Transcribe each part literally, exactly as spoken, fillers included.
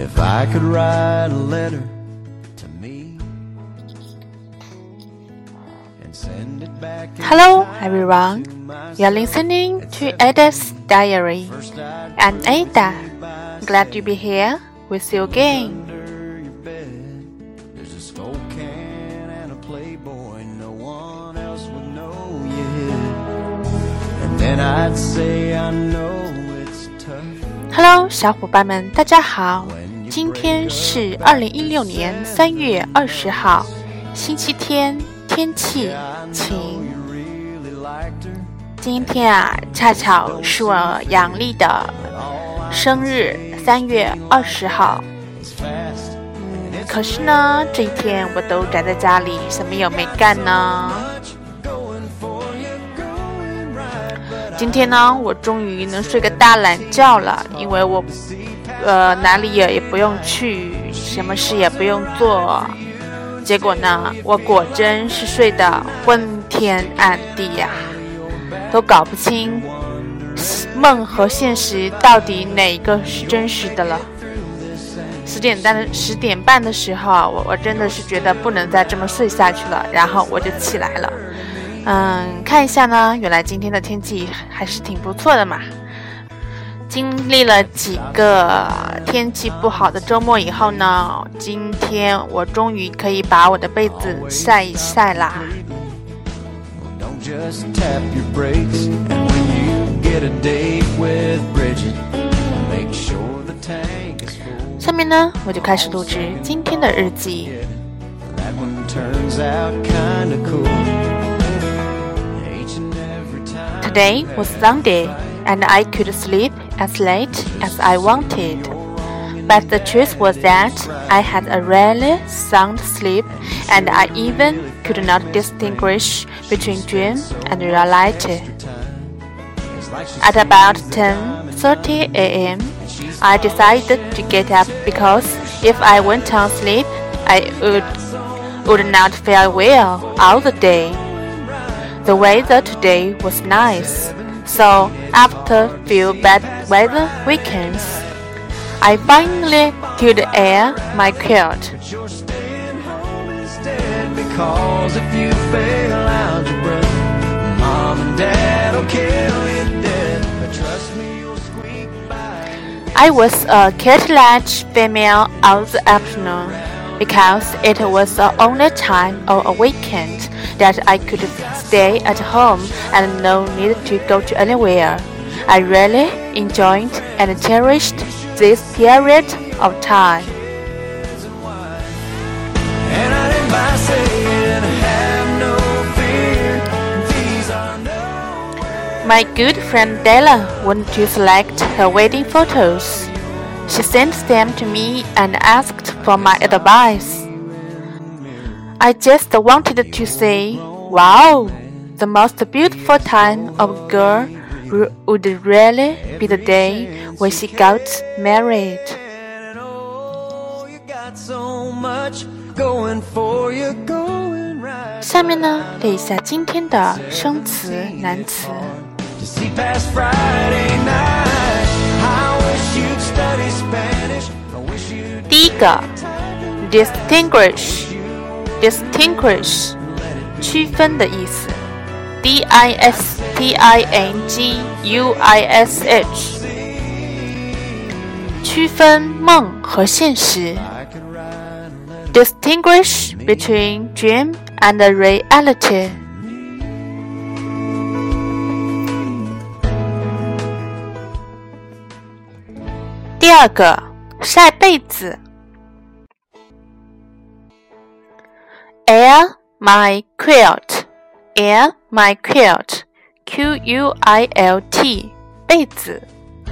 If I could write a letter to me and send it back. Hello everyone, you're listening to Ada's Diary. I'm Ada, glad to be here with you again. There's a skull can and a Playboy, no one else would know you hid. And then I'd say I know it's tough. Hello 小伙伴们，大家好，今天是二零一六年三月二十号，星期天，天气晴。今天啊，恰巧是我阳历的生日，三月二十号。嗯，可是呢，这一天我都宅在家里，什么也没干呢。今天呢，我终于能睡个大懒觉了，因为我呃哪里也也不用去，什么事也不用做。结果呢，我果真是睡得昏天暗地呀、啊，都搞不清梦和现实到底哪个是真实的了。十点半的十点半的时候，我我真的是觉得不能再这么睡下去了，然后我就起来了。嗯，看一下呢，原来今天的天气还是挺不错的嘛。经历了几个天气不好的周末以后呢，今天我终于可以把我的被子晒一晒啦。下面呢，我就开始录制今天的日记。Today was Sunday, and I could sleep as late as I wanted. But the truth was that I had a really sound sleep, and I even could not distinguish between dream and reality. At about ten thirty a m, I decided to get up because if I went on sleep, I would, would not feel well all the day.The weather today was nice, so after few bad weather weekends, I finally could air my quilt. I was a cartilage female all the afternoon because it was the only time of a weekend that I could stay at home and no need to go to anywhere. I really enjoyed and cherished this period of time. My good friend Della wanted to select her wedding photos. She sent them to me and asked for my advice. I just wanted to say, wow, the most beautiful time of a girl would really be the day when she got married. 下面呢，列一下今天的生词、难词。第一个 distinguish distinguish 区分的意思 D I S T I N G U I S H 区分梦和现实 Distinguish between dream and reality。 第二个晒被子 Air my quilt Air my quilt Q U I L T 被子。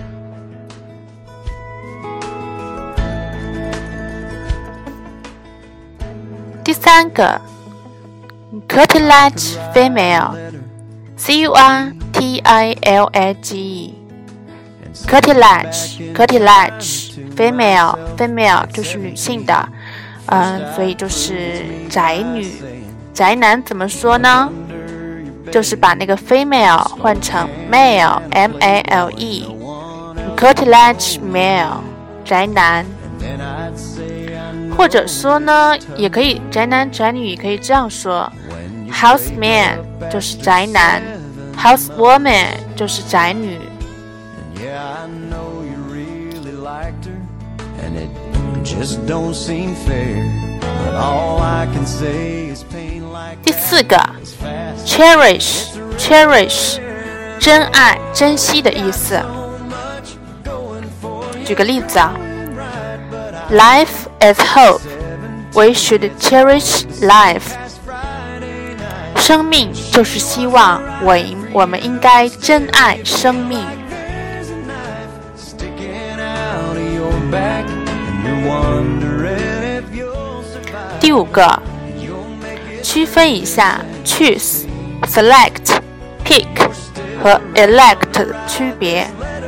第三个 Cartilage female C U R T I L A G E Cartilage Cartilage female female 就是女性的，嗯，所以就是宅女。宅男怎么说呢？就是把那个 female 换成 male M A L E Cartilage male 宅男。 或者说呢，也可以宅男宅女可以这样说 ，house man 就是宅男 ，house woman 就是宅女。第四个 ，cherish cherish 珍爱珍惜的意思。举个例子啊。Life is hope. We should cherish life. 生命就是希望，我我们应该珍爱生命。第五个，区分一下 choose、select、pick 和 elect 的区别。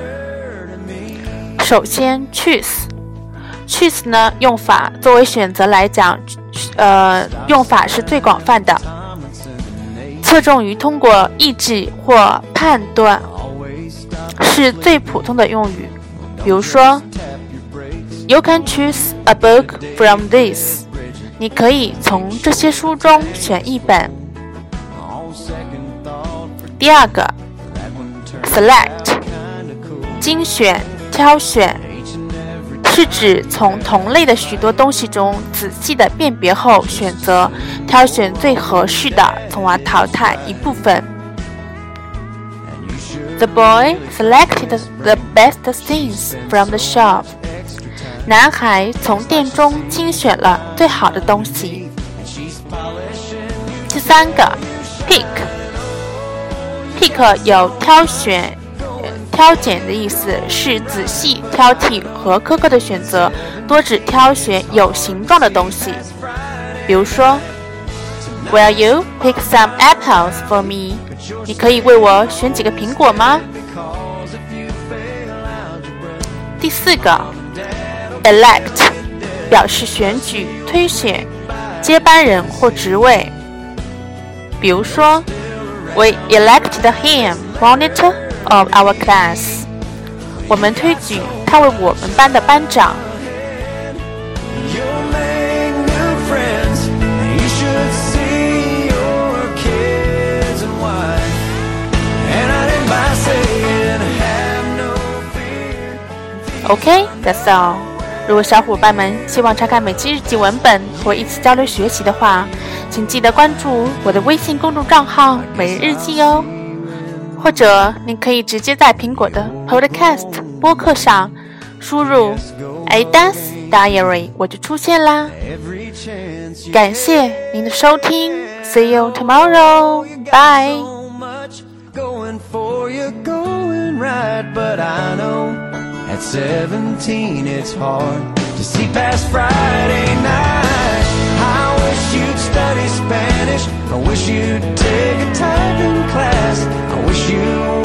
首先 choose。choose 呢，用法作为选择来讲，呃，用法是最广泛的，侧重于通过意志或判断，是最普通的用语。比如说 ，You can choose a book from this。你可以从这些书中选一本。第二个 ，select， 精选、挑选。是指从同类的许多东西中仔细的辨别后选择挑选最合适的，从而淘汰一部分。The boy selected the best things from the shop. 男孩从店中精选了最好的东西。第三个 pick pick 有挑选挑拣的意思，是仔细挑剔和苛刻的选择，多指挑选有形状的东西。比如说 Will you pick some apples for me？ 你可以为我选几个苹果吗？第四个 elect 表示选举、推选接班人或职位。比如说 We elected him monitor of our class. 我们推举他为我们班的班长。OK, that's all. 如果小伙伴们希望查看每期日记文本或一起交流学习的话，请记得关注我的微信公众账号每日日记哦。或者您可以直接在苹果的 Podcast 播客上输入 Ada's Diary 我就出现啦。感谢您的收听 See you tomorrow. Bye. At seventeen it's hard to see past Friday night. I wish you'd study Spanish. I wish you'd take a typing class. I wish you